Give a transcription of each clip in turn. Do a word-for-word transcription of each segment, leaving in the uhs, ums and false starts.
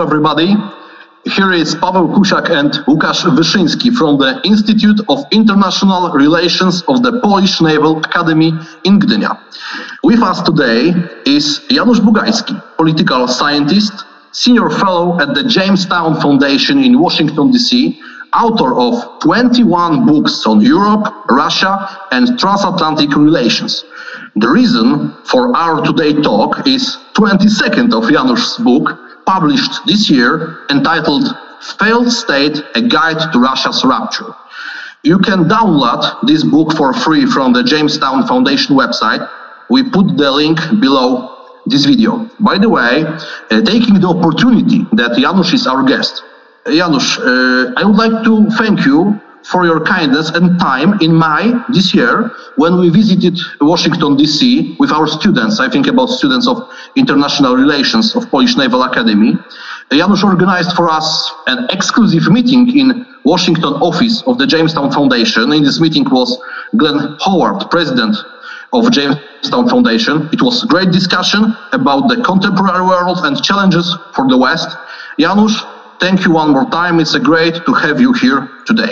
everybody. Here is Paweł Kusiak and Łukasz Wyszyński from the Institute of International Relations of the Polish Naval Academy in Gdynia. With us today is Janusz Bugajski, political scientist, senior fellow at the Jamestown Foundation in Washington, D C, author of twenty-one books on Europe, Russia, and transatlantic relations. The reason for our today talk is twenty-second of Janusz's book, published this year, entitled Failed State, A Guide to Russia's Rupture. You can download this book for free from the Jamestown Foundation website. We put the link below this video. By the way, uh, taking the opportunity that Janusz is our guest, Janusz, uh, I would like to thank you for your kindness and time in May this year when we visited Washington, D C with our students, I think about students of international relations of Polish Naval Academy. Janusz organized for us an exclusive meeting in Washington office of the Jamestown Foundation. In this meeting was Glenn Howard, president of Jamestown Foundation. It was a great discussion about the contemporary world and challenges for the West. Janusz, thank you one more time. It's a great to have you here today.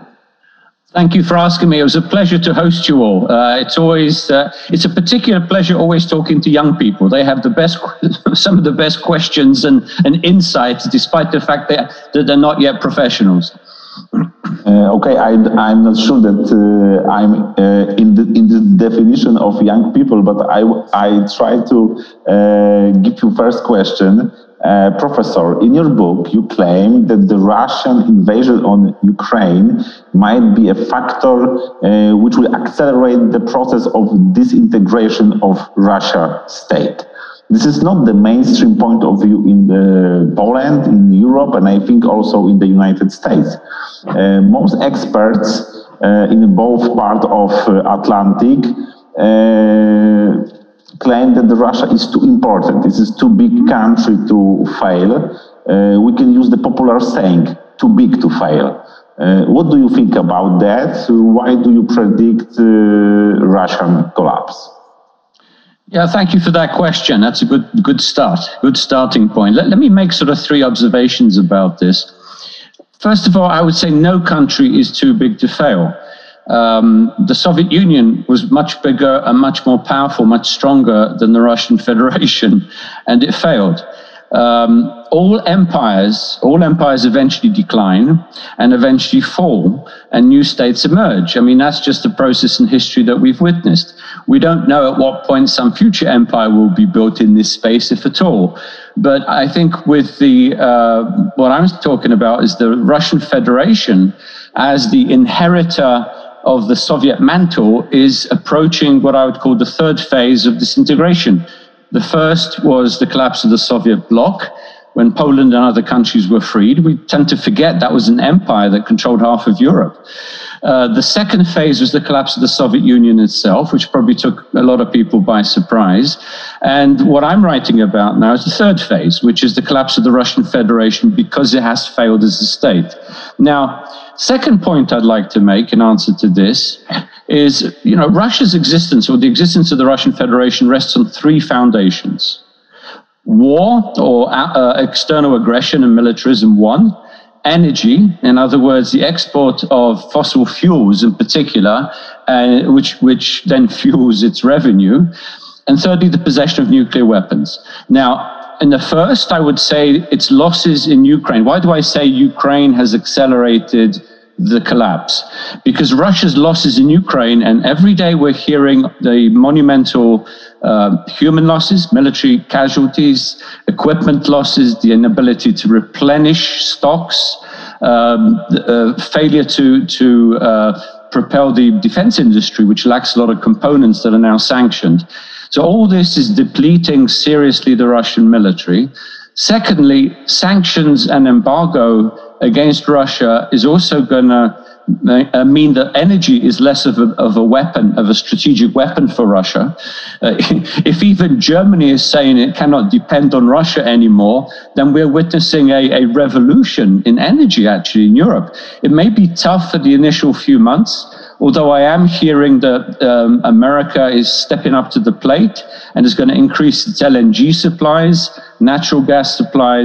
Thank you for asking me. It was a pleasure to host you all. Uh, it's always, uh, it's a particular pleasure always talking to young people. They have the best, some of the best questions and, and insights, despite the fact that, that they're not yet professionals. Uh, okay, I, I'm not sure that uh, I'm uh, in the in the definition of young people, but I I try to uh, give you first question. Uh, Professor, in your book, you claim that the Russian invasion on Ukraine might be a factor uh, which will accelerate the process of disintegration of Russia state. This is not the mainstream point of view in the Poland, in Europe, and I think also in the United States. Uh, most experts uh, in both parts of uh, Atlantic uh, claim that Russia is too important. This is too big country to fail. Uh, we can use the popular saying, too big to fail. Uh, what do you think about that? Why do you predict uh, Russian collapse? Yeah, thank you for that question. That's a good good start, good starting point. Let, let me make sort of three observations about this. First of all, I would say no country is too big to fail. Um, the Soviet Union was much bigger and much more powerful, much stronger than the Russian Federation, and it failed. Um, all empires, all empires eventually decline and eventually fall, and new states emerge. I mean, that's just a process in history that we've witnessed. We don't know at what point some future empire will be built in this space, if at all. But I think with the, uh, what I'm talking about is the Russian Federation as the inheritor of the Soviet mantle is approaching what I would call the third phase of disintegration. The first was the collapse of the Soviet bloc, when Poland and other countries were freed. We tend to forget that was an empire that controlled half of Europe. Uh, the second phase was the collapse of the Soviet Union itself, which probably took a lot of people by surprise. And what I'm writing about now is the third phase, which is the collapse of the Russian Federation because it has failed as a state. Now, second point I'd like to make in answer to this is, you know, Russia's existence, or the existence of the Russian Federation, rests on three foundations. War, or uh, external aggression and militarism, one. Energy, in other words, the export of fossil fuels in particular, uh, which, which then fuels its revenue. And thirdly, the possession of nuclear weapons. Now, in the first, I would say its losses in Ukraine. Why do I say Ukraine has accelerated the collapse? Because Russia's losses in Ukraine, and every day we're hearing the monumental uh, human losses, military casualties, equipment losses, the inability to replenish stocks, um, the, uh, failure to, to uh, propel the defense industry, which lacks a lot of components that are now sanctioned. So all this is depleting seriously the Russian military. Secondly, sanctions and embargo against Russia is also going to uh, mean that energy is less of a, of a weapon, of a strategic weapon for Russia. Uh, if even Germany is saying it cannot depend on Russia anymore, then we're witnessing a, a revolution in energy, actually, in Europe. It may be tough for the initial few months, although I am hearing that um, America is stepping up to the plate and is going to increase its L N G supplies, natural gas supplies,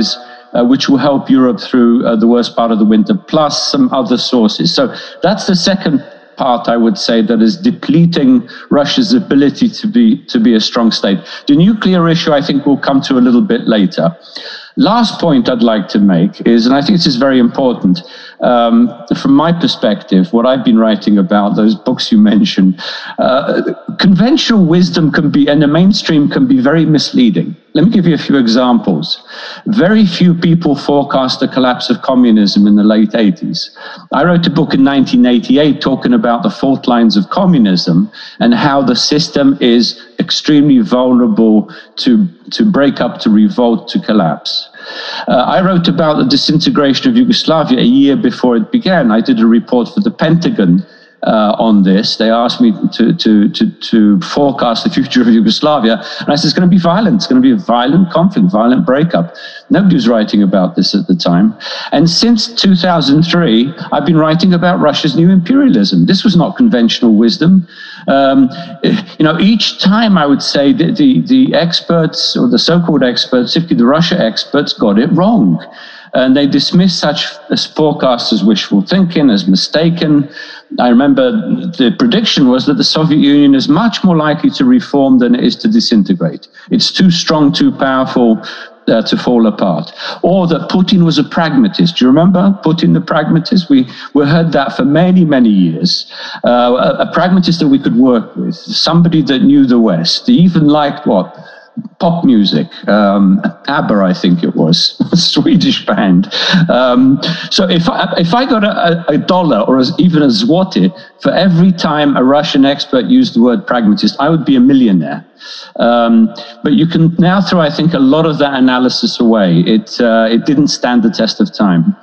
uh, which will help Europe through uh, the worst part of the winter, plus some other sources. So that's the second part, I would say, that is depleting Russia's ability to be to be a strong state. The nuclear issue, I think, we'll come to a little bit later. Last point I'd like to make is, and I think this is very important, um, from my perspective, what I've been writing about, those books you mentioned, uh, conventional wisdom can be, and the mainstream can be very misleading. Let me give you a few examples. Very few people forecast the collapse of communism in the late eighties. I wrote a book in nineteen eighty-eight talking about the fault lines of communism and how the system is extremely vulnerable to, to break up, to revolt, to collapse. Uh, I wrote about the disintegration of Yugoslavia a year before it began. I did a report for the Pentagon Uh, on this. They asked me to, to, to, to forecast the future of Yugoslavia. And I said, it's going to be violent. It's going to be a violent conflict, violent breakup. Nobody was writing about this at the time. And since two thousand three, I've been writing about Russia's new imperialism. This was not conventional wisdom. Um, you know, each time I would say that the, the experts, or the so-called experts, particularly the Russia experts, got it wrong. And they dismissed such as forecasts as wishful thinking, as mistaken. I remember the prediction was that the Soviet Union is much more likely to reform than it is to disintegrate. It's too strong, too powerful uh, to fall apart. Or that Putin was a pragmatist. Do you remember Putin the pragmatist? We, we heard that for many, many years. Uh, a, a pragmatist that we could work with, somebody that knew the West. He even liked what? Pop music, um, ABBA, I think it was, a Swedish band. Um, so if I, if I got a, a dollar or as, even a zloty for every time a Russian expert used the word pragmatist, I would be a millionaire. Um, but you can now throw, I think, a lot of that analysis away. It, uh, it didn't stand the test of time.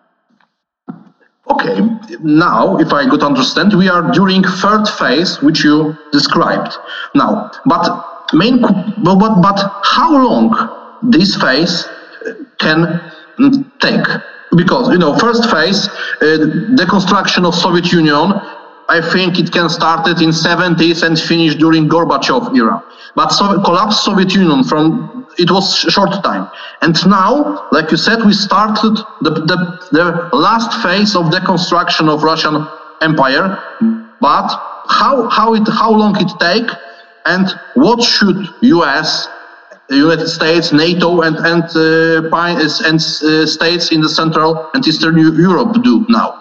Okay, now, if I could understand, we are during third phase, which you described. Now, but Main, but, but, but how long this phase can take? Because, you know, first phase, uh, deconstruction of Soviet Union, I think it can start it in seventies and finish during Gorbachev era. But so, collapse Soviet Union from, it was short time. And now, like you said, we started the, the, the last phase of deconstruction of Russian Empire. But how, how, it, how long it take? And what should U S, United States, NATO, and and uh, and uh, states in the Central and Eastern Europe do now?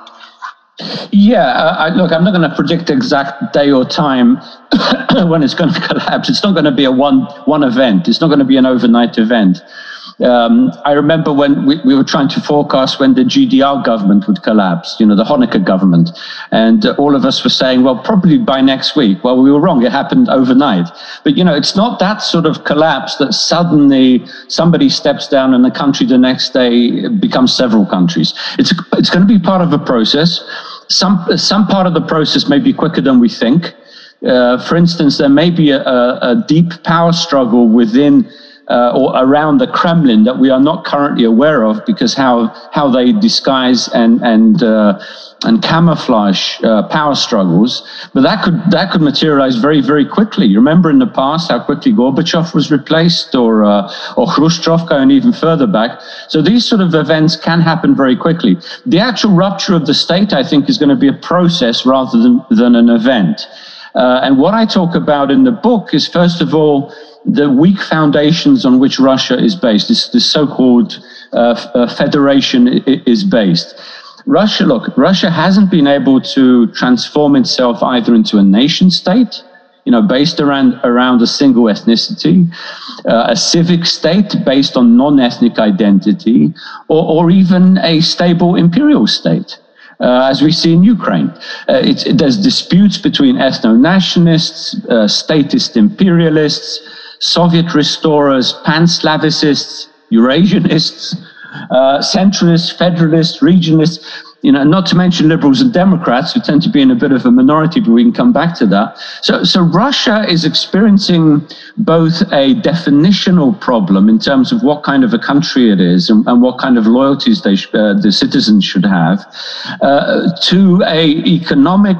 Yeah, uh, I, look, I'm not going to predict the exact day or time when it's going to collapse. It's not going to be a one one event. It's not going to be an overnight event. Um, I remember when we, we were trying to forecast when the G D R government would collapse, you know, the Honecker government. And uh, all of us were saying, well, probably by next week. Well, we were wrong. It happened overnight. But, you know, it's not that sort of collapse that suddenly somebody steps down and the country the next day becomes several countries. It's, it's going to be part of a process. Some, some part of the process may be quicker than we think. Uh, for instance, there may be a, a deep power struggle within Uh, or around the Kremlin that we are not currently aware of, because how how they disguise and and uh, and camouflage uh, power struggles. But that could that could materialize very very quickly. You remember in the past how quickly Gorbachev was replaced, or uh, or Khrushchev, going even further back. So these sort of events can happen very quickly. The actual rupture of the state, I think, is going to be a process rather than than an event. Uh, and what I talk about in the book is, first of all, the weak foundations on which Russia is based, this, this so-called uh, uh, federation is based. Russia, look, Russia hasn't been able to transform itself either into a nation state, you know, based around, around a single ethnicity, uh, a civic state based on non-ethnic identity, or, or even a stable imperial state. Uh, as we see in Ukraine. Uh, it's, it, there's disputes between ethno-nationalists, uh, statist imperialists, Soviet restorers, pan-Slavicists, Eurasianists, uh, centralists, federalists, regionalists, you know, not to mention liberals and Democrats, who tend to be in a bit of a minority, but we can come back to that. So, so Russia is experiencing both a definitional problem in terms of what kind of a country it is and, and what kind of loyalties they sh- uh, the citizens should have, uh, to a economic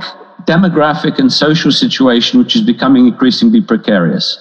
demographic and social situation which is becoming increasingly precarious.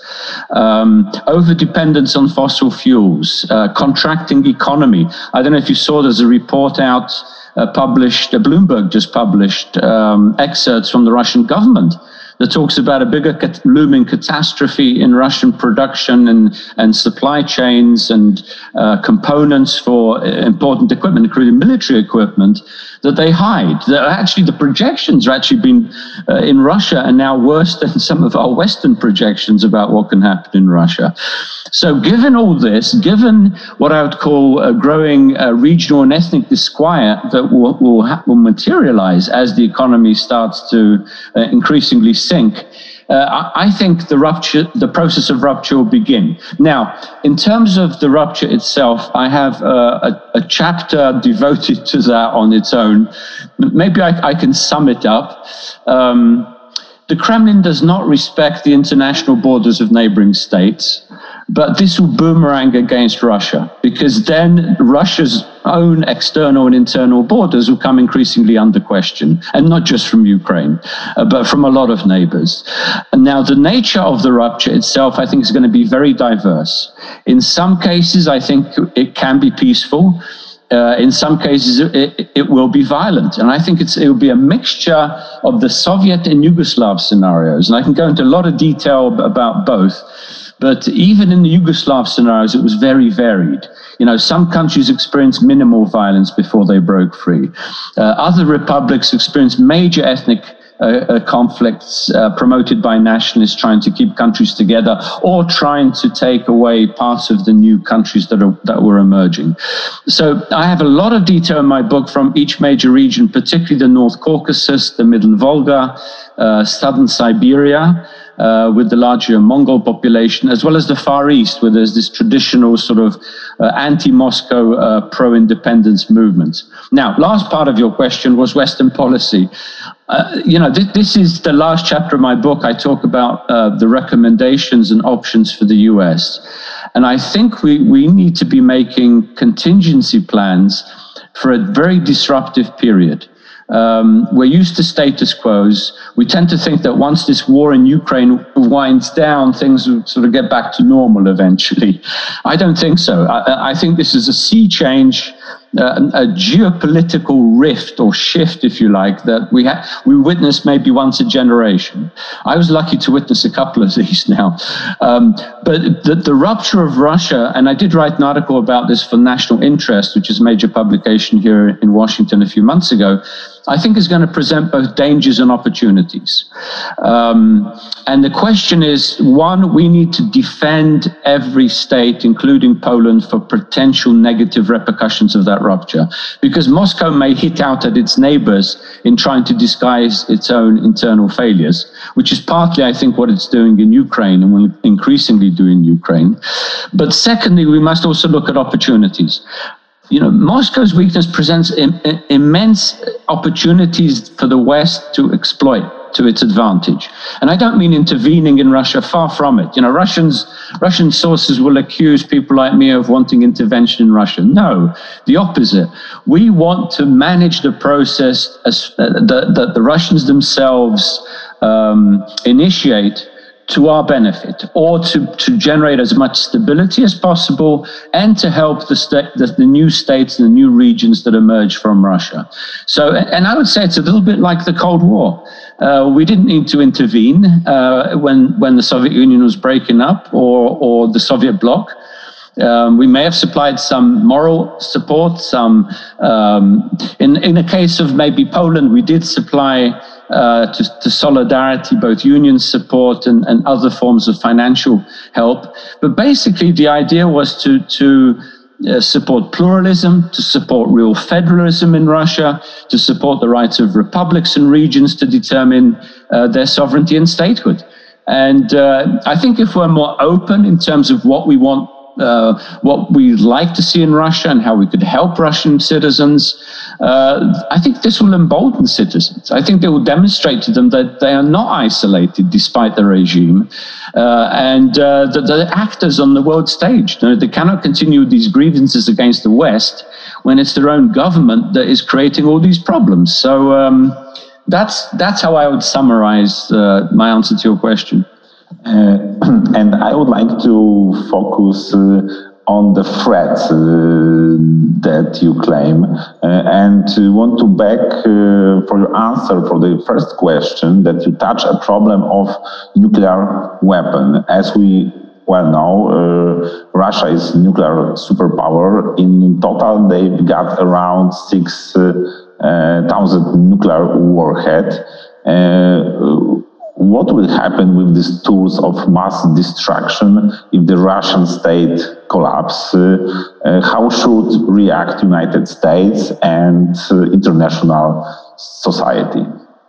Um, over-dependence on fossil fuels, uh, contracting economy. I don't know if you saw, there's a report out uh, published, uh, Bloomberg just published um, excerpts from the Russian government that talks about a bigger cat- looming catastrophe in Russian production and, and supply chains and uh, components for important equipment, including military equipment, that they hide. That actually, the projections are actually been uh, in Russia are now worse than some of our Western projections about what can happen in Russia. So given all this, given what I would call a growing uh, regional and ethnic disquiet that will, will, ha- will materialize as the economy starts to uh, increasingly sink, uh, I, I think the rupture, the process of rupture will begin. Now, in terms of the rupture itself, I have uh, a, a chapter devoted to that on its own. Maybe I, I can sum it up. Um, the Kremlin does not respect the international borders of neighboring states. But this will boomerang against Russia, because then Russia's own external and internal borders will come increasingly under question, and not just from Ukraine, uh, but from a lot of neighbors. And now, the nature of the rupture itself, I think, is going to be very diverse. In some cases, I think it can be peaceful. Uh, in some cases, it, it will be violent. And I think it's, it will be a mixture of the Soviet and Yugoslav scenarios. And I can go into a lot of detail about both. But even in the Yugoslav scenarios, it was very varied. You know, some countries experienced minimal violence before they broke free. Uh, other republics experienced major ethnic uh, uh, conflicts uh, promoted by nationalists trying to keep countries together, or trying to take away parts of the new countries that are, that were emerging. So I have a lot of detail in my book from each major region, particularly the North Caucasus, the Middle Volga, uh, southern Siberia, Uh, with the larger Mongol population, as well as the Far East, where there's this traditional sort of uh, anti-Moscow uh, pro-independence movement. Now, last part of your question was Western policy. Uh, you know, th- this is the last chapter of my book. I talk about uh, the recommendations and options for the U S. And I think we, we need to be making contingency plans for a very disruptive period. Um, we're used to status quos. We tend to think that once this war in Ukraine winds down, things will sort of get back to normal eventually. I don't think so. I, I think this is a sea change, uh, a geopolitical rift or shift, if you like, that we ha- we witness maybe once a generation. I was lucky to witness a couple of these now. Um, but the, the rupture of Russia, and I did write an article about this for National Interest, which is a major publication here in Washington a few months ago, I think is going to present both dangers and opportunities. Um, and the question is, one, we need to defend every state, including Poland, for potential negative repercussions of that rupture, because Moscow may hit out at its neighbors in trying to disguise its own internal failures, which is partly, I think, what it's doing in Ukraine and will increasingly do in Ukraine. But secondly, we must also look at opportunities. You know, Moscow's weakness presents im- immense opportunities for the West to exploit to its advantage. And I don't mean intervening in Russia, far from it. You know, Russians, Russian sources will accuse people like me of wanting intervention in Russia. No, the opposite. We want to manage the process as, uh, that, that the Russians themselves um, initiate to our benefit, or to, to generate as much stability as possible, and to help the, sta- the, the new states and the new regions that emerge from Russia. So, and I would say it's a little bit like the Cold War. Uh, we didn't need to intervene uh, when, when the Soviet Union was breaking up, or, or the Soviet bloc. Um, we may have supplied some moral support, some, um, in, in the case of maybe Poland, we did supply Uh, to, to solidarity, both union support and, and other forms of financial help. But basically, the idea was to, to uh, support pluralism, to support real federalism in Russia, to support the rights of republics and regions to determine uh, their sovereignty and statehood. And uh, I think if we're more open in terms of what we want, uh, what we'd like to see in Russia and how we could help Russian citizens, Uh, I think this will embolden citizens. I think they will demonstrate to them that they are not isolated despite the regime, uh, and uh, that they're actors on the world stage. You know, they cannot continue these grievances against the West when it's their own government that is creating all these problems. So um, that's that's how I would summarize uh, my answer to your question. Uh, and I would like to focus uh, on the threat uh, that you claim, uh, and uh, want to back uh, for your answer for the first question that you touch a problem of nuclear weapon. As we well know, uh, Russia is nuclear superpower. In total, they've got around six uh, uh, thousand nuclear warhead. Uh, What will happen with these tools of mass destruction if the Russian state collapse? Uh, uh, how should react United States and uh, international society?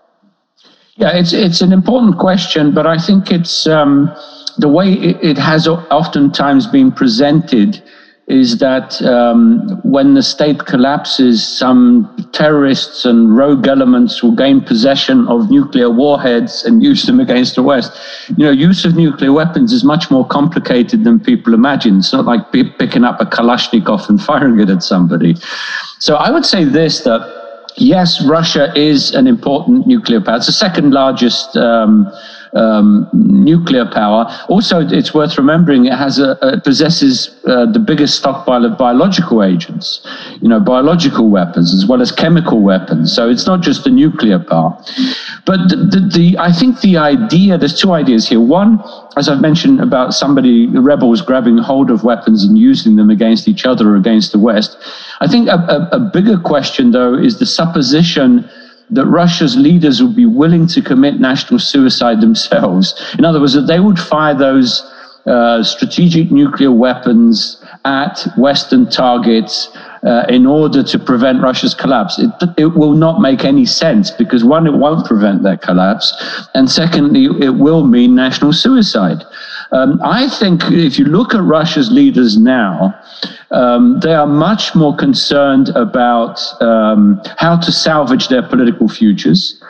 Yeah, it's it's an important question, but I think it's um, the way it, it has oftentimes been presented is that um, when the state collapses, some terrorists and rogue elements will gain possession of nuclear warheads and use them against the West. You know, use of nuclear weapons is much more complicated than people imagine. It's not like p- picking up a Kalashnikov and firing it at somebody. So I would say this, that yes, Russia is an important nuclear power. It's the second largest um, um, nuclear power. Also, it's worth remembering it has a, it possesses uh, the biggest stockpile of biological agents, you know, biological weapons as well as chemical weapons. So it's not just the nuclear power. But the, the, the I think the idea, there's two ideas here. One, as I've mentioned about somebody, the rebels grabbing hold of weapons and using them against each other or against the West. I think a, a, a bigger question, though, is the supposition that Russia's leaders would be willing to commit national suicide themselves. In other words, that they would fire those uh, strategic nuclear weapons at Western targets uh, in order to prevent Russia's collapse. It, it will not make any sense because, one, it won't prevent that collapse, and secondly, it will mean national suicide. Um, I think if you look at Russia's leaders now, um, they are much more concerned about um, how to salvage their political futures.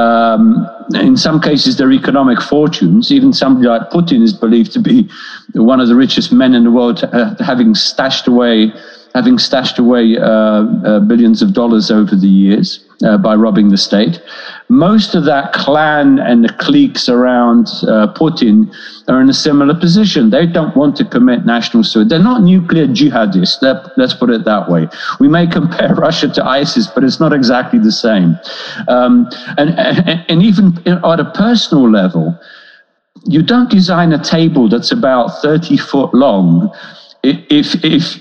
Um, in some cases, their economic fortunes. Even somebody like Putin is believed to be one of the richest men in the world, uh, having stashed away, having stashed away uh, uh, billions of dollars over the years uh, by robbing the state. Most of that clan and the cliques around uh, Putin are in a similar position. They don't want to commit national suicide. They're not nuclear jihadists. Let's put it that way. We may compare Russia to ISIS, but it's not exactly the same. Um, and, and, and even at a personal level, you don't design a table that's about thirty foot long if, if,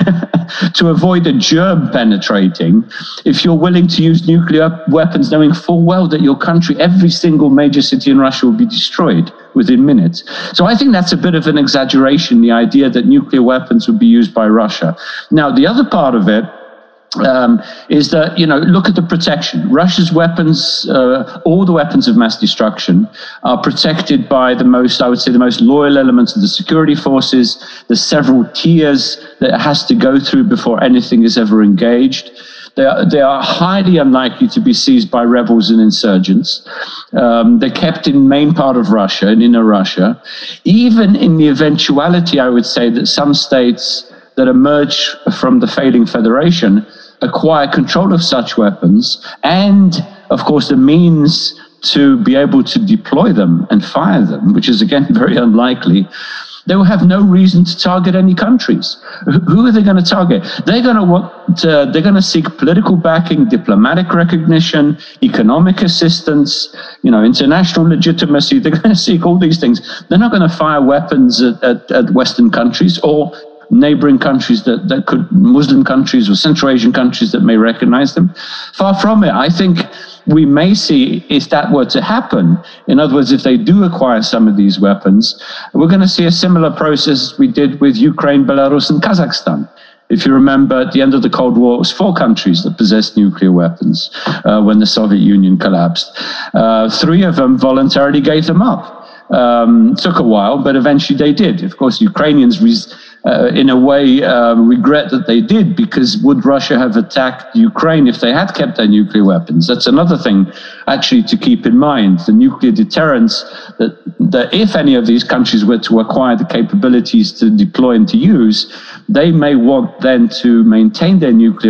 if to avoid a germ penetrating, if you're willing to use nuclear weapons, knowing full well that your country, every single major city in Russia will be destroyed within minutes. So I think that's a bit of an exaggeration, the idea that nuclear weapons would be used by Russia. Now, the other part of it Um, is that, you know, look at the protection. Russia's weapons, uh, all the weapons of mass destruction are protected by the most, I would say, the most loyal elements of the security forces. There's several tiers that it has to go through before anything is ever engaged. They are, they are highly unlikely to be seized by rebels and insurgents. Um, they're kept in main part of Russia and inner Russia. Even in the eventuality, I would say, that some states that emerge from the failing federation acquire control of such weapons and, of course, the means to be able to deploy them and fire them, which is, again, very unlikely. They will have no reason to target any countries. Who are they going to target? They're going to want. To, they're going to seek political backing, diplomatic recognition, economic assistance, you know, international legitimacy. They're going to seek all these things. They're not going to fire weapons at, at, at Western countries or neighboring countries that, that could, Muslim countries or Central Asian countries that may recognize them. Far from it. I think we may see, if that were to happen, in other words, if they do acquire some of these weapons, we're going to see a similar process we did with Ukraine, Belarus, and Kazakhstan. If you remember, at the end of the Cold War, it was four countries that possessed nuclear weapons uh, when the Soviet Union collapsed. Uh, three of them voluntarily gave them up. Um, took a while, but eventually they did. Of course, Ukrainians res- Uh, in a way, um, regret that they did, because would Russia have attacked Ukraine if they had kept their nuclear weapons? That's another thing, actually, to keep in mind. The nuclear deterrence, that, that if any of these countries were to acquire the capabilities to deploy and to use, they may want then to maintain their nuclear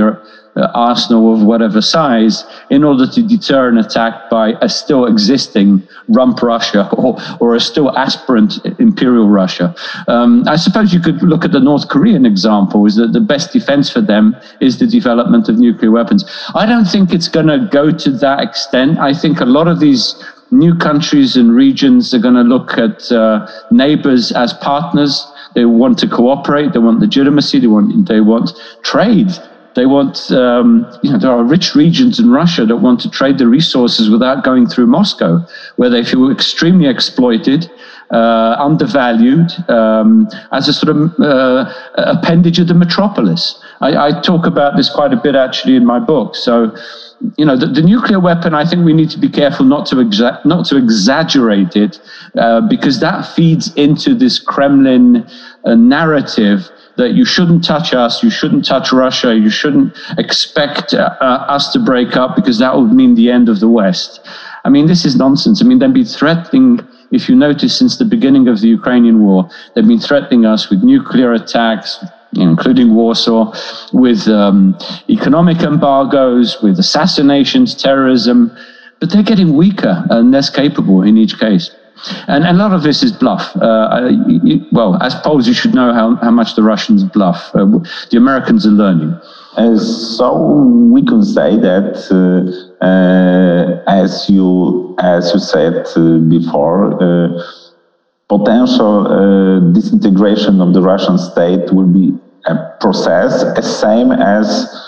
uh, arsenal of whatever size in order to deter an attack by a still existing rump Russia or, or a still aspirant imperial Russia. Um, I suppose you could look at the North Korean example, is that the best defense for them is the development of nuclear weapons. I don't think it's going to go to that extent. I think a lot of these new countries and regions are going to look at uh, neighbors as partners. They want to cooperate. They want legitimacy. They want they want trade. They want, um, you know, there are rich regions in Russia that want to trade the resources without going through Moscow, where they feel extremely exploited, uh, undervalued, um, as a sort of uh, appendage of the metropolis. I, I talk about this quite a bit actually in my book. So, you know, the, the nuclear weapon, I think we need to be careful not to exa- not to exaggerate it, uh, because that feeds into this Kremlin uh, narrative that you shouldn't touch us, you shouldn't touch Russia, you shouldn't expect uh, uh, us to break up because that would mean the end of the West. I mean, this is nonsense. I mean, they've been threatening, if you notice, since the beginning of the Ukrainian war, they've been threatening us with nuclear attacks, you know, including Warsaw, with um, economic embargoes, with assassinations, terrorism, but they're getting weaker and less capable in each case. And, and a lot of this is bluff. Uh, you, well, as Poles, you should know how, how much the Russians bluff. Uh, the Americans are learning. Uh, so we can say that, uh, uh, as you as you said uh, before, uh, potential uh, disintegration of the Russian state will be a process, as same as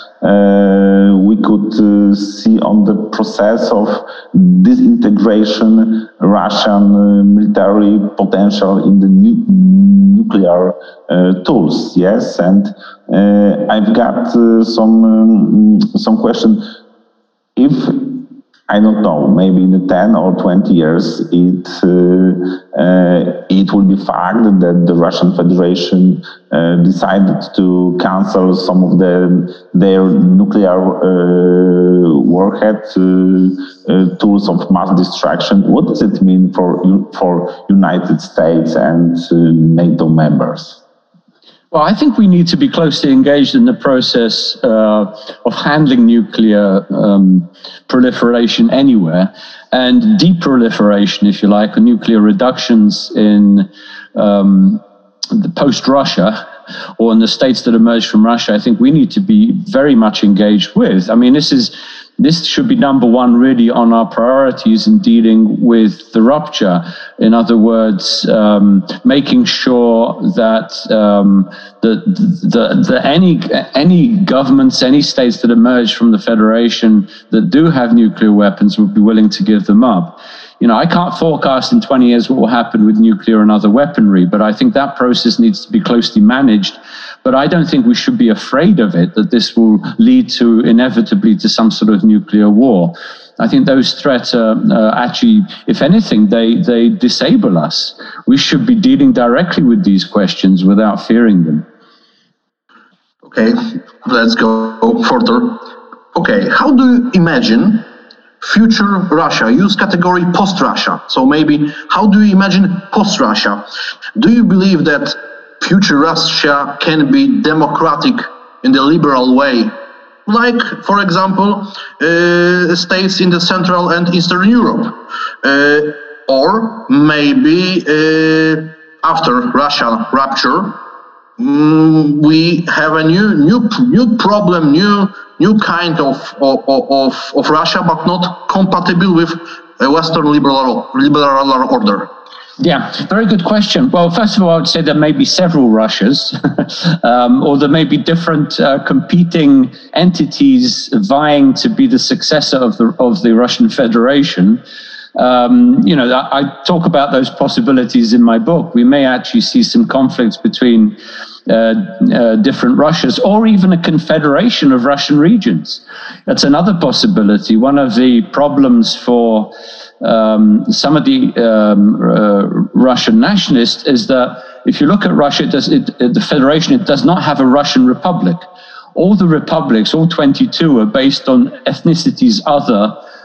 uh, we could uh, see on the process of disintegration Russian uh, military potential in the nu- nuclear uh, tools. Yes, and uh, I've got uh, some um, some question. If I don't know, maybe in ten or twenty years, it uh, uh, it will be fact that the Russian Federation uh, decided to cancel some of the their nuclear uh, warhead uh, uh, tools of mass destruction. What does it mean for for United States and uh, NATO members? Well, I think we need to be closely engaged in the process uh, of handling nuclear um, proliferation anywhere, and deproliferation, if you like, or nuclear reductions in um, the post-Russia, or in the states that emerge from Russia. I think we need to be very much engaged with. I mean, this is this should be number one really on our priorities in dealing with the rupture. In other words, um, making sure that um, the, the, the any any governments, any states that emerge from the Federation that do have nuclear weapons would be willing to give them up. You know, I can't forecast in twenty years what will happen with nuclear and other weaponry, but I think that process needs to be closely managed. But I don't think we should be afraid of it, that this will lead to inevitably to some sort of nuclear war. I think those threats are uh, actually, if anything, they, they disable us. We should be dealing directly with these questions without fearing them. Okay, let's go further. Okay, how do you imagine future Russia? Use category post-Russia. So maybe, how do you imagine post-Russia? Do you believe that future Russia can be democratic in the liberal way, like, for example, uh, states in the Central and Eastern Europe, uh, or maybe uh, after Russia rupture, um, we have a new, new, new problem, new, new kind of of, of of Russia, but not compatible with a Western liberal liberal order. Yeah, very good question. Well, first of all, I would say there may be several Russias, um, or there may be different uh, competing entities vying to be the successor of the of the Russian Federation. Um, you know, I, I talk about those possibilities in my book. We may actually see some conflicts between uh, uh, different Russias, or even a confederation of Russian regions. That's another possibility. One of the problems for Um, some of the um, uh, Russian nationalists is that if you look at Russia, it does, it, it, the Federation, it does not have a Russian republic. All the republics, all twenty-two, are based on ethnicities other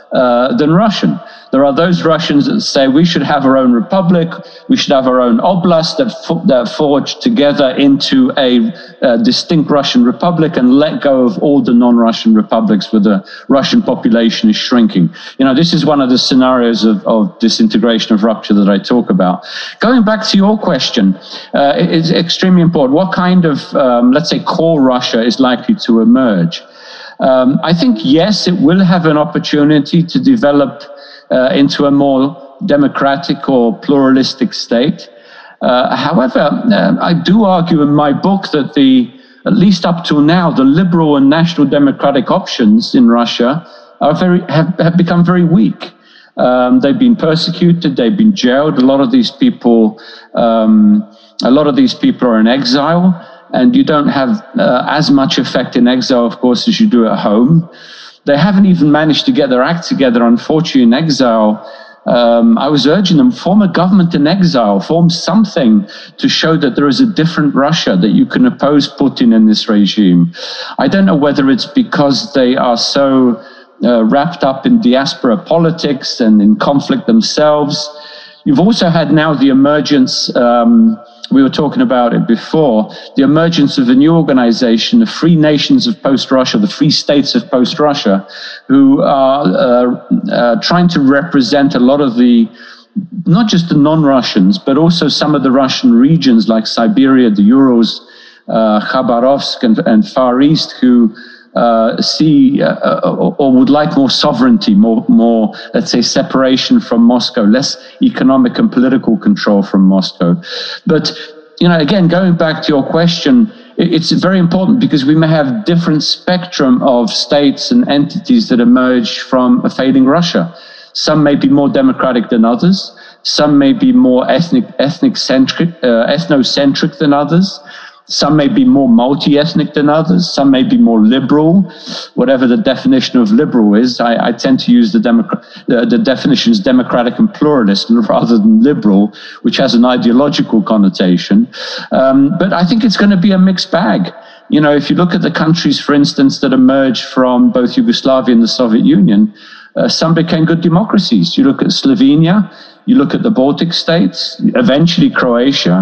uh, than Russian. There are those Russians that say we should have our own republic, we should have our own oblast that, that forge together into a, a distinct Russian republic and let go of all the non-Russian republics where the Russian population is shrinking. You know, this is one of the scenarios of, of disintegration, of rupture that I talk about. Going back to your question, uh, it's extremely important. What kind of, um, let's say, core Russia is likely to emerge? Um, I think, yes, it will have an opportunity to develop uh, into a more democratic or pluralistic state. Uh, however, uh, I do argue in my book that the, at least up till now, the liberal and national democratic options in Russia are very, have, have become very weak. Um, they've been persecuted, they've been jailed. A lot of these people, um, a lot of these people are in exile, and you don't have uh, as much effect in exile, of course, as you do at home. They haven't even managed to get their act together, unfortunately, in exile. Um, I was urging them, form a government in exile, form something to show that there is a different Russia, that you can oppose Putin in this regime. I don't know whether it's because they are so uh, wrapped up in diaspora politics and in conflict themselves. You've also had now the emergence, um, we were talking about it before, the emergence of a new organization, the Free Nations of Post-Russia, the Free States of Post-Russia, who are uh, uh, trying to represent a lot of the, not just the non-Russians, but also some of the Russian regions like Siberia, the Urals, uh, Khabarovsk and, and Far East, who Uh, see uh, or, or would like more sovereignty, more, more, let's say, separation from Moscow, less economic and political control from Moscow. But, you know, again, going back to your question, it, it's very important because we may have different spectrum of states and entities that emerge from a fading Russia. Some may be more democratic than others. Some may be more ethnic, ethnic centric, uh, ethnocentric than others. Some may be more multi-ethnic than others. Some may be more liberal, whatever the definition of liberal is. I, I tend to use the, democra- the, the definitions democratic and pluralist rather than liberal, which has an ideological connotation. Um, but I think it's going to be a mixed bag. You know, if you look at the countries, for instance, that emerged from both Yugoslavia and the Soviet Union, uh, some became good democracies. You look at Slovenia, you look at the Baltic states, eventually Croatia.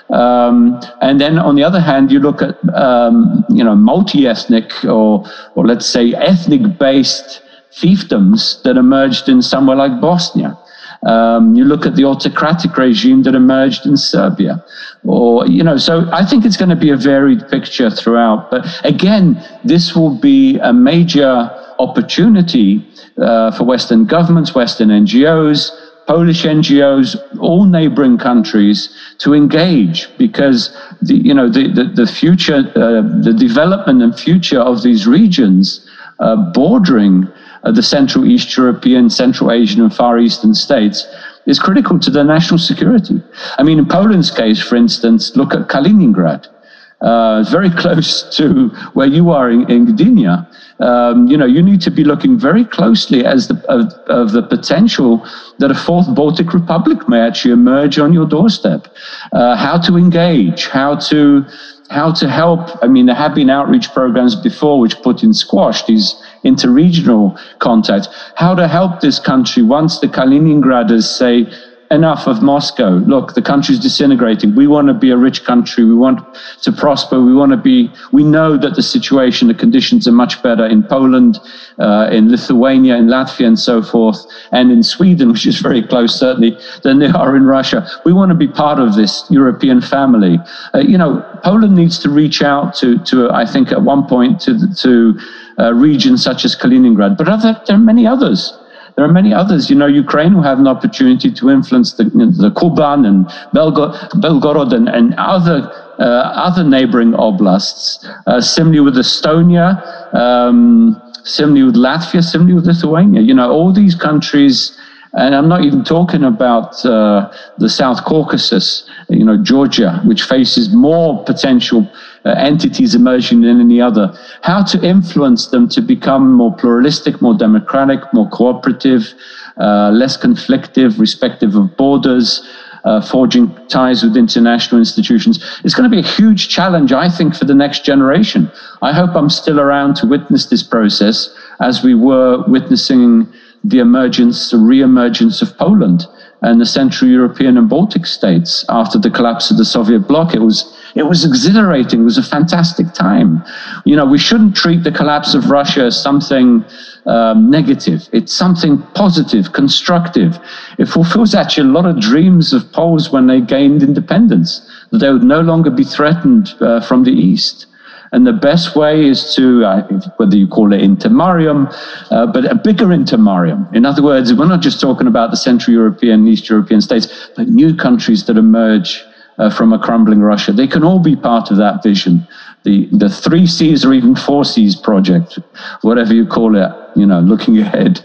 Um, and then on the other hand, you look at, um, you know, multi-ethnic or, or let's say ethnic-based fiefdoms that emerged in somewhere like Bosnia. Um, you look at the autocratic regime that emerged in Serbia, or, you know, so I think it's going to be a varied picture throughout. But again, this will be a major opportunity uh, for Western governments, Western N G Os, Polish N G Os, all neighboring countries to engage, because the, you know, the, the, the future, uh, the development and future of these regions uh, bordering uh, the Central East European, Central Asian and Far Eastern states is critical to their national security. I mean, in Poland's case, for instance, look at Kaliningrad. Uh, very close to where you are in, in Gdynia. Um, you know, you need to be looking very closely as the, of, of the potential that a fourth Baltic Republic may actually emerge on your doorstep. Uh, how to engage, how to how to help. I mean, there have been outreach programs before which Putin squashed these interregional contacts. How to help this country once the Kaliningraders say, enough of Moscow. Look, the country's disintegrating. We want to be a rich country. We want to prosper. We want to be, we know that the situation, the conditions are much better in Poland, uh, in Lithuania, in Latvia, and so forth, and in Sweden, which is very close, certainly, than they are in Russia. We want to be part of this European family. Uh, you know, Poland needs to reach out to, to I think, at one point, to, to uh, regions such as Kaliningrad, but other, there are many others. There are many others. You know, Ukraine will have an opportunity to influence the, the Kuban and Belgo, Belgorod and, and other uh, other neighboring oblasts. Uh, similarly with Estonia, um, similarly with Latvia, similarly with Lithuania. You know, all these countries, and I'm not even talking about uh, the South Caucasus, you know, Georgia, which faces more potential uh, entities emerging than any other. How to influence them to become more pluralistic, more democratic, more cooperative, uh, less conflictive, respective of borders, uh, forging ties with international institutions. It's going to be a huge challenge, I think, for the next generation. I hope I'm still around to witness this process as we were witnessing the emergence, the re-emergence of Poland and the Central European and Baltic states after the collapse of the Soviet bloc. It was it was exhilarating. It was a fantastic time. You know, we shouldn't treat the collapse of Russia as something um, negative. It's something positive, constructive. It fulfills actually a lot of dreams of Poles when they gained independence, that they would no longer be threatened uh, from the East. And the best way is to, uh, whether you call it intermarium, uh, but a bigger intermarium. In other words, we're not just talking about the Central European, East European states, but new countries that emerge uh, from a crumbling Russia. They can all be part of that vision. The, the three C's or even four C's project, whatever you call it, you know, looking ahead.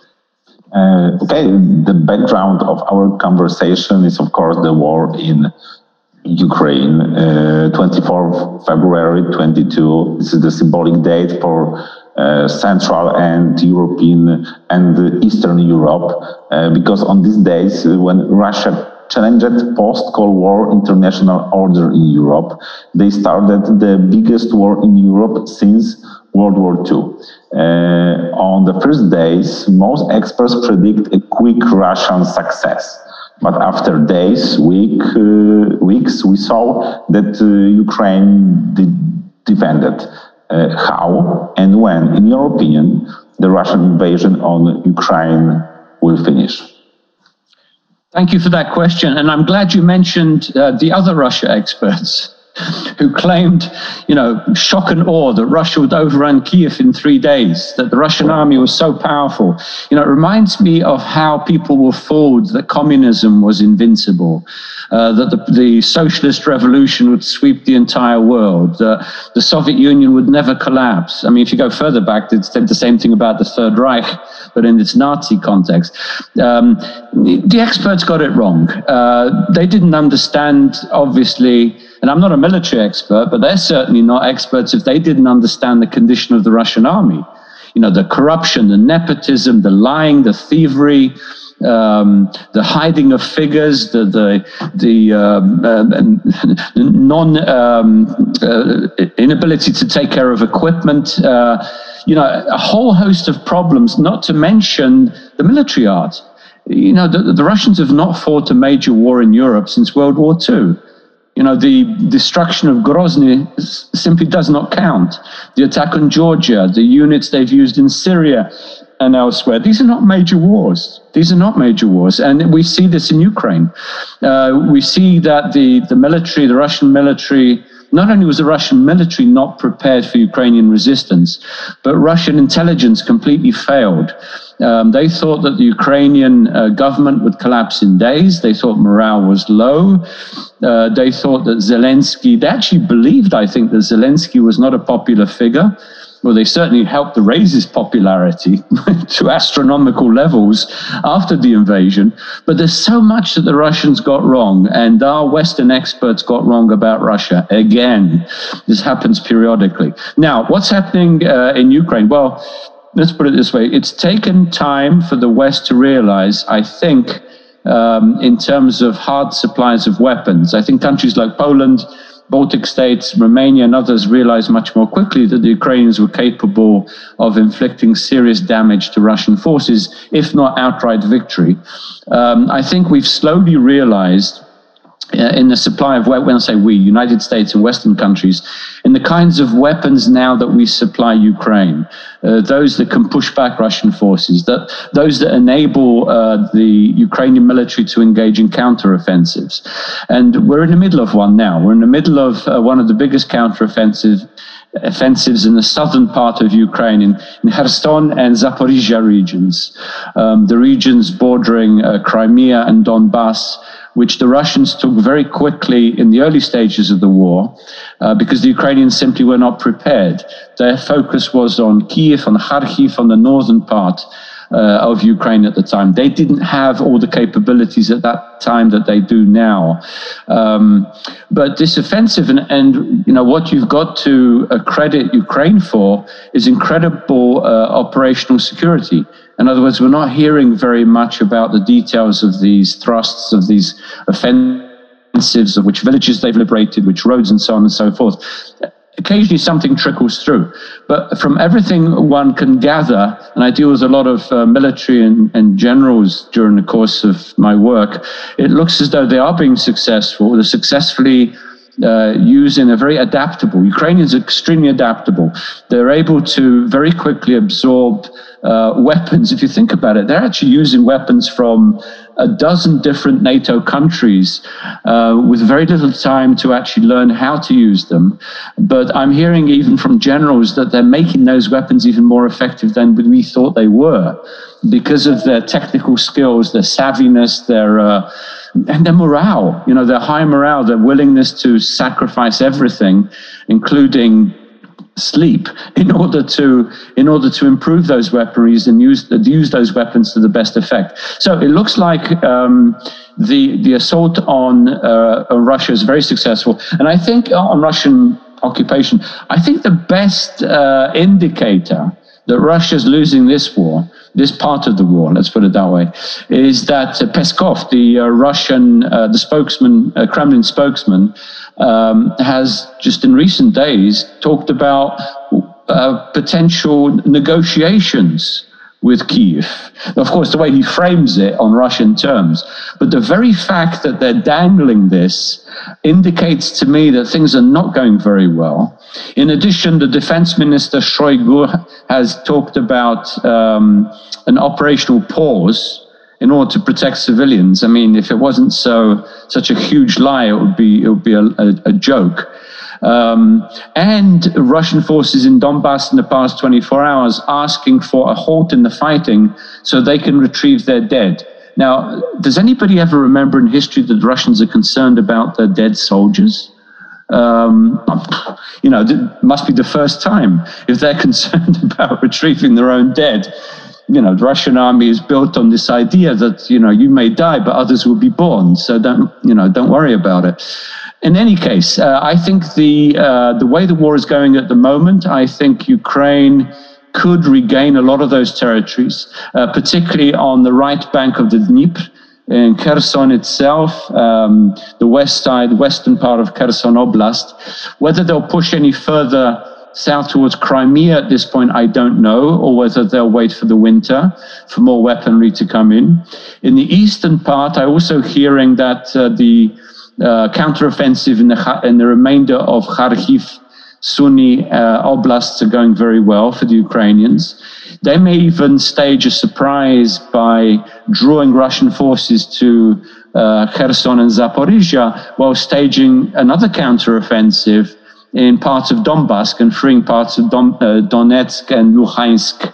Uh, okay, the background of our conversation is, of course, the war in Ukraine, uh, twenty-fourth February twenty-two. This is the symbolic date for uh, Central and European and Eastern Europe, uh, because on these days uh, when Russia challenged post-Cold War international order in Europe, they started the biggest war in Europe since World War Two. Uh, on the first days, most experts predict a quick Russian success. But after days, week, uh, weeks, we saw that uh, Ukraine de- defended. Uh, how and when, in your opinion, the Russian invasion on Ukraine will finish? Thank you for that question. And I'm glad you mentioned uh, the other Russia experts who claimed, you know, shock and awe that Russia would overrun Kiev in three days, that the Russian army was so powerful. You know, it reminds me of how people were fooled that communism was invincible, uh, that the, the socialist revolution would sweep the entire world, that the Soviet Union would never collapse. I mean, if you go further back, they said the same thing about the Third Reich, but in its Nazi context. Um, the experts got it wrong. Uh, they didn't understand, obviously, and I'm not a military expert, but they're certainly not experts if they didn't understand the condition of the Russian army. You know, the corruption, the nepotism, the lying, the thievery, um, the hiding of figures, the the the um, uh, non um, uh, inability to take care of equipment. Uh, you know, a whole host of problems. Not to mention the military art. You know, the, the Russians have not fought a major war in Europe since World War Two. You know, the destruction of Grozny simply does not count. The attack on Georgia, the units they've used in Syria and elsewhere, these are not major wars. These are not major wars. And we see this in Ukraine. Uh, we see that the, the military, the Russian military, not only was the Russian military not prepared for Ukrainian resistance, but Russian intelligence completely failed. Um, they thought that the Ukrainian uh, government would collapse in days. They thought morale was low. Uh, they thought that Zelensky, they actually believed, I think, that Zelensky was not a popular figure. Well, they certainly helped to raise his popularity to astronomical levels after the invasion. But there's so much that the Russians got wrong, and our Western experts got wrong about Russia. Again, this happens periodically. Now, what's happening uh, in Ukraine? Well, let's put it this way. It's taken time for the West to realize, I think, um, in terms of hard supplies of weapons. I think countries like Poland, Baltic states, Romania, and others realized much more quickly that the Ukrainians were capable of inflicting serious damage to Russian forces, if not outright victory. Um, I think we've slowly realized uh, in the supply of, when I say we, United States and Western countries, in the kinds of weapons now that we supply Ukraine, uh, those that can push back Russian forces, that those that enable uh, the Ukrainian military to engage in counteroffensives. And we're in the middle of one now. We're in the middle of uh, one of the biggest counteroffensive offensives in the southern part of Ukraine, in, in Kherson and Zaporizhia regions, um, the regions bordering uh, Crimea and Donbass, which the Russians took very quickly in the early stages of the war, uh, because the Ukrainians simply were not prepared. Their focus was on Kiev, on Kharkiv, on the northern part uh, of Ukraine at the time. They didn't have all the capabilities at that time that they do now. Um, but this offensive, and, and you know what you've got to credit Ukraine for is incredible uh, operational security. In other words, we're not hearing very much about the details of these thrusts, of these offensives, of which villages they've liberated, which roads and so on and so forth. occasionally something trickles through. But from everything one can gather, and I deal with a lot of uh, military and, and generals during the course of my work, it looks as though they are being successful. They're successfully uh, using a very adaptable. Ukrainians are extremely adaptable. They're able to very quickly absorb uh, weapons. If you think about it, they're actually using weapons from a dozen different NATO countries uh, with very little time to actually learn how to use them. But I'm hearing even from generals that they're making those weapons even more effective than we thought they were because of their technical skills, their savviness, their uh, and their morale, you know, their high morale, their willingness to sacrifice everything, including sleep, in order to in order to improve those weaponries and use use those weapons to the best effect. So it looks like um, the the assault on, uh, on Russia is very successful, and I think on Russian occupation, I think the best uh, indicator that Russia's losing this war, this part of the war, let's put it that way, is that uh, Peskov, the uh, Russian, uh, the spokesman, uh, Kremlin spokesman, um, has just in recent days talked about uh, potential negotiations with Kyiv. Of course, the way he frames it on Russian terms, but the very fact that they're dangling this indicates to me that things are not going very well. In addition, the defense minister Shoigu has talked about um, an operational pause in order to protect civilians. I mean, if it wasn't so such a huge lie, it would be it would be a, a, a joke. Um, and Russian forces in Donbass in the past twenty-four hours asking for a halt in the fighting so they can retrieve their dead. Now, does anybody ever remember in history that the Russians are concerned about their dead soldiers? Um, you know, it must be the first time if they're concerned about retrieving their own dead. You know, the Russian army is built on this idea that, you know, you may die, but others will be born. So don't, you know, don't worry about it. In any case, uh, I think the uh, the way the war is going at the moment, I think Ukraine could regain a lot of those territories, uh, particularly on the right bank of the Dnieper, in Kherson itself, um, the west side, western part of Kherson Oblast. Whether they'll push any further south towards Crimea at this point, I don't know, or whether they'll wait for the winter for more weaponry to come in. In the eastern part, I'm also hearing that uh, the uh, counteroffensive in the, in the remainder of Kharkiv, Sumy uh, oblasts are going very well for the Ukrainians. They may even stage a surprise by drawing Russian forces to uh, Kherson and Zaporizhia while staging another counteroffensive in parts of Donbass and freeing parts of Don, uh, Donetsk and Luhansk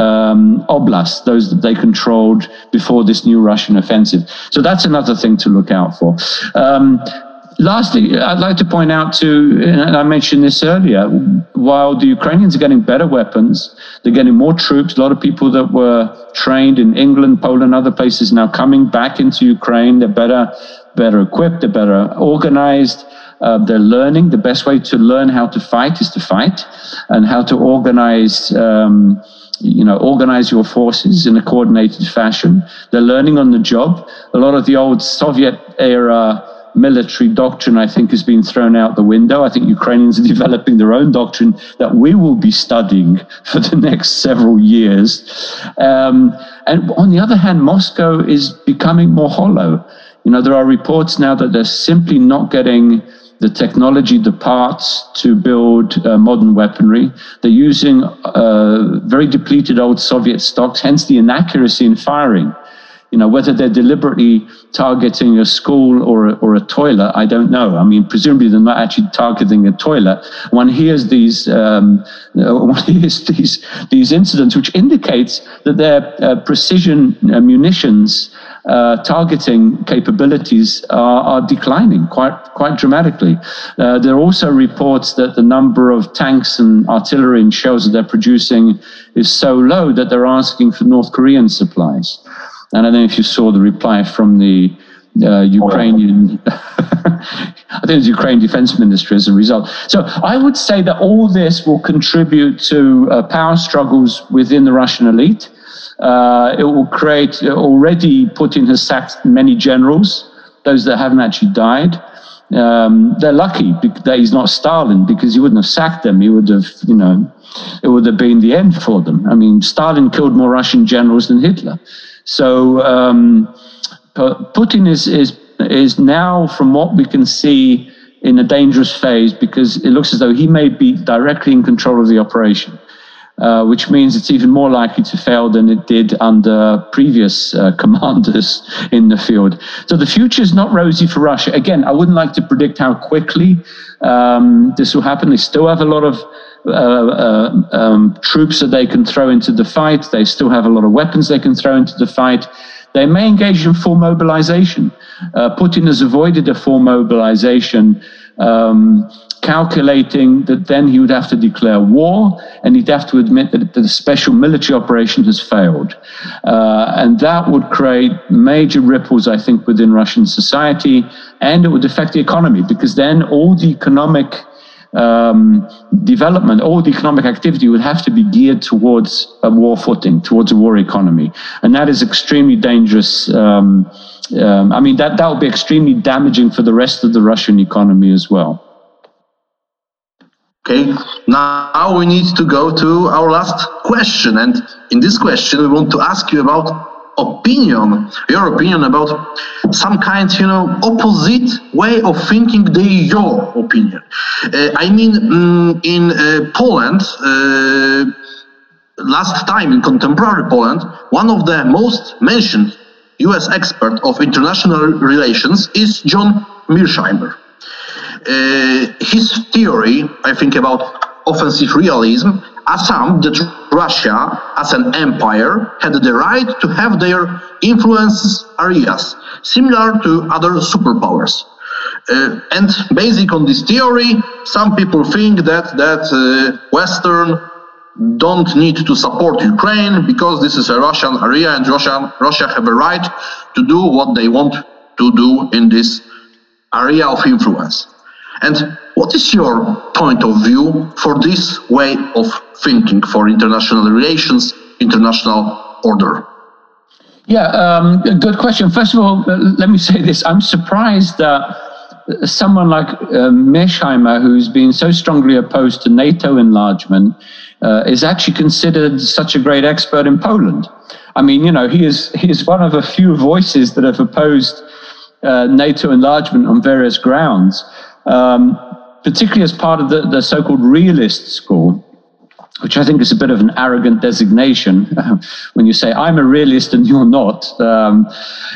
um, Oblast, those that they controlled before this new Russian offensive. So that's another thing to look out for. Um, lastly, I'd like to point out too, and I mentioned this earlier, while the Ukrainians are getting better weapons, they're getting more troops. A lot of people that were trained in England, Poland, other places now coming back into Ukraine. They're better, better equipped, they're better organized. Uh, they're learning. The best way to learn how to fight is to fight, and how to organize, um, you know, organize your forces in a coordinated fashion. They're learning on the job. A lot of the old Soviet-era military doctrine, I think, has been thrown out the window. I think Ukrainians are developing their own doctrine that we will be studying for the next several years. Um, and on the other hand, Moscow is becoming more hollow. You know, there are reports now that they're simply not getting the technology, the parts to build uh, modern weaponry. They're using uh, very depleted old Soviet stocks, hence the inaccuracy in firing. You know, whether they're deliberately targeting a school or a, or a toilet, I don't know. I mean, presumably they're not actually targeting a toilet. One hears these, um, one hears these these incidents, which indicates that their uh, precision uh, munitions uh, targeting capabilities are, are declining quite quite dramatically. Uh, there are also reports that the number of tanks and artillery and shells that they're producing is so low that they're asking for North Korean supplies. And I don't know if you saw the reply from the uh, Ukrainian, I think it was Ukraine Defense Ministry as a result. So I would say that all this will contribute to uh, power struggles within the Russian elite. Uh, it will create, already Putin has sacked many generals, those that haven't actually died. Um, they're lucky that he's not Stalin, because he wouldn't have sacked them. He would have, you know, it would have been the end for them. I mean, Stalin killed more Russian generals than Hitler. So um, Putin is, is, is now, from what we can see, in a dangerous phase, because it looks as though he may be directly in control of the operation. Uh, which means it's even more likely to fail than it did under previous uh, commanders in the field. So the future is not rosy for Russia. Again, I wouldn't like to predict how quickly um, this will happen. They still have a lot of uh, uh, um, troops that they can throw into the fight. They still have a lot of weapons they can throw into the fight. They may engage in full mobilization. Uh, Putin has avoided a full mobilization, um, calculating that then he would have to declare war, and he'd have to admit that the special military operation has failed. Uh, and that would create major ripples, I think, within Russian society, and it would affect the economy, because then all the economic um, development, all the economic activity would have to be geared towards a war footing, towards a war economy. And that is extremely dangerous. Um, um, I mean, that, that would be extremely damaging for the rest of the Russian economy as well. Okay, now we need to go to our last question. And in this question, we want to ask you about opinion, your opinion about some kind, you know, opposite way of thinking than your opinion. Uh, I mean, um, in uh, Poland, uh, last time in contemporary Poland, one of the most mentioned U S expert of international relations is John Mearsheimer. Uh, his theory, I think, about offensive realism assumed that Russia, as an empire, had the right to have their influence areas, similar to other superpowers. Uh, and based on this theory, some people think that, that uh, Western don't need to support Ukraine because this is a Russian area and Russia, Russia have a right to do what they want to do in this area of influence. And what is your point of view for this way of thinking for international relations, international order? Yeah, um, good question. First of all, let me say this. I'm surprised that someone like uh, Mearsheimer, who's been so strongly opposed to NATO enlargement, uh, is actually considered such a great expert in Poland. I mean, you know, he is, he is one of a few voices that have opposed uh, NATO enlargement on various grounds. Um, particularly as part of the, the so-called realist school, which I think is a bit of an arrogant designation when you say, I'm a realist and you're not. Um,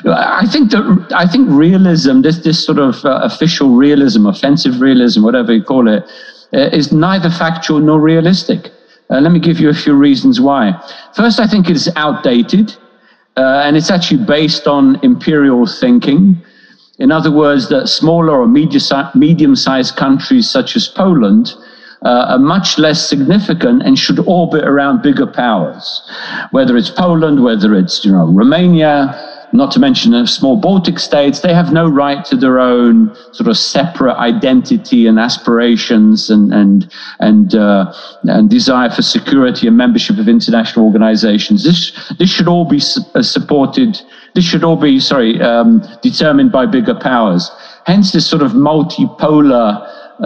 I think that I think realism, this, this sort of uh, official realism, offensive realism, whatever you call it, uh, is neither factual nor realistic. Uh, let me give you a few reasons why. First, I think it is outdated, uh, and it's actually based on imperial thinking. In other words, that smaller or medium-sized countries such as Poland uh, are much less significant and should orbit around bigger powers. Whether it's Poland, whether it's, you know, Romania, not to mention the small Baltic states, they have no right to their own sort of separate identity and aspirations and and and uh, and desire for security and membership of international organizations. This this should all be su- supported. This should all be, sorry, um, determined by bigger powers. Hence this sort of multipolar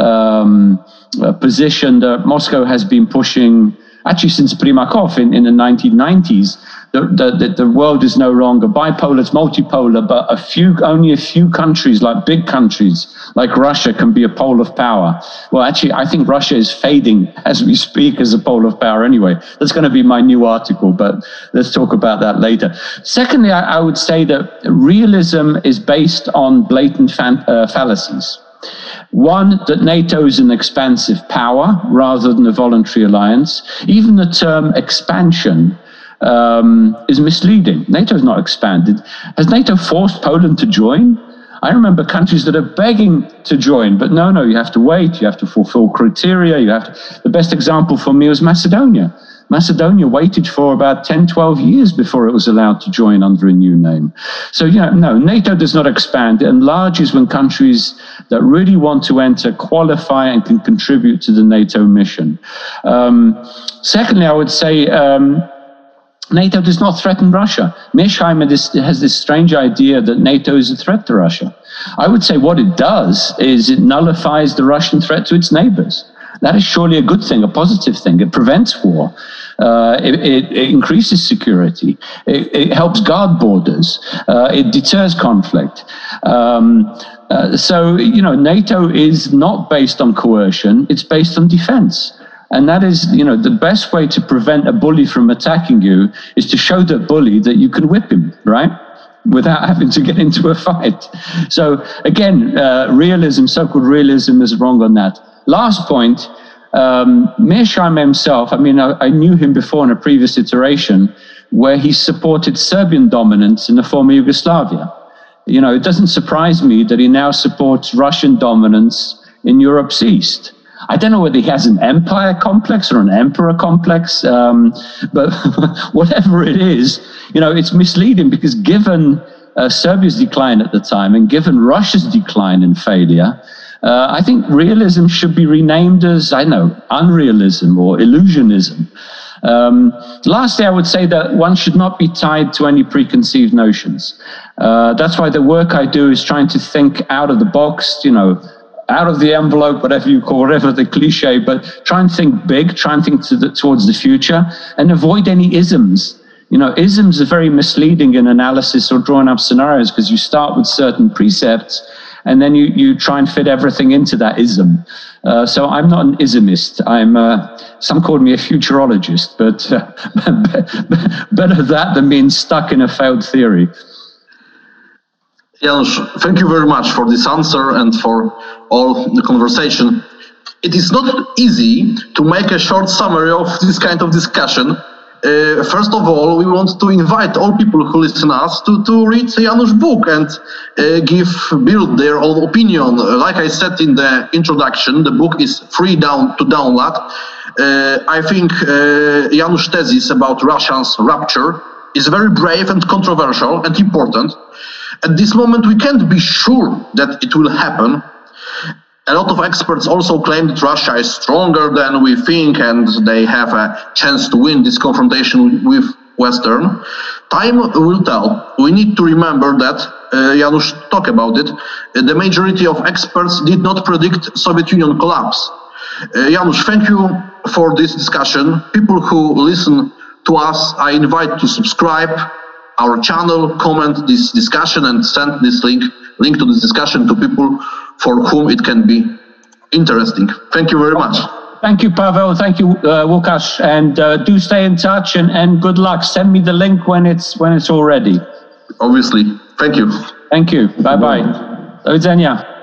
um, uh, position that Moscow has been pushing, actually since Primakov in, in the nineteen nineties, that the, the, the world is no longer bipolar, it's multipolar, but a few, only a few countries, like big countries, like Russia, can be a pole of power. Well, actually, I think Russia is fading as we speak as a pole of power anyway. That's going to be my new article, but let's talk about that later. Secondly, I, I would say that realism is based on blatant fan, uh, fallacies. One, that NATO is an expansive power rather than a voluntary alliance. Even the term expansion um, is misleading. NATO is not expanded. Has NATO forced Poland to join? I remember countries that are begging to join, but no, no, you have to wait, you have to fulfill criteria, you have to... The best example for me was Macedonia. Macedonia waited for about ten, twelve years before it was allowed to join under a new name. So, you know, no, NATO does not expand. It enlarges when countries that really want to enter qualify and can contribute to the NATO mission. Um, secondly, I would say um, NATO does not threaten Russia. Mearsheimer this, has this strange idea that NATO is a threat to Russia. I would say what it does is it nullifies the Russian threat to its neighbors. That is surely a good thing, a positive thing. It prevents war. Uh, it, it, it increases security. It, it helps guard borders. Uh, it deters conflict. Um, uh, so, you know, NATO is not based on coercion. It's based on defense. And that is, you know, the best way to prevent a bully from attacking you is to show that bully that you can whip him, right? Without having to get into a fight. So again, uh, realism, so-called realism is wrong on that. Last point, um, Mearsheimer himself, I mean, I, I knew him before in a previous iteration where he supported Serbian dominance in the former Yugoslavia. You know, it doesn't surprise me that he now supports Russian dominance in Europe's east. I don't know whether he has an empire complex or an emperor complex, um, but whatever it is, you know, it's misleading because given uh, Serbia's decline at the time and given Russia's decline and failure, uh, I think realism should be renamed as, I know, unrealism or illusionism. Um, lastly, I would say that one should not be tied to any preconceived notions. Uh, that's why the work I do is trying to think out of the box, you know, out of the envelope, whatever you call, whatever the cliche, but try and think big, try and think to the, towards the future and avoid any isms. You know, isms are very misleading in analysis or drawing up scenarios because you start with certain precepts and then you, you try and fit everything into that ism. Uh, so I'm not an ismist. I'm, uh, some call me a futurologist, but uh, better that than being stuck in a failed theory. Janusz, thank you very much for this answer and for all the conversation. It is not easy to make a short summary of this kind of discussion. Uh, first of all, we want to invite all people who listen to us to, to read Janusz's book and uh, give build their own opinion. Like I said in the introduction, the book is free down to download. Uh, I think uh, Janusz's thesis about Russia's rupture is very brave and controversial and important. At this moment, we can't be sure that it will happen. A lot of experts also claim that Russia is stronger than we think and they have a chance to win this confrontation with Western. Time will tell. We need to remember that, uh, Janusz talked about it, uh, the majority of experts did not predict Soviet Union collapse. Uh, Janusz, thank you for this discussion. People who listen to us, I invite to subscribe our channel, comment this discussion and send this link link to this discussion to people for whom it can be interesting. Thank you very much. Thank you, Pavel. Thank you, uh, Łukasz. And uh, do stay in touch and, and good luck. Send me the link when it's when it's all ready. Obviously. Thank you. Thank you. Bye-bye. Do widzenia.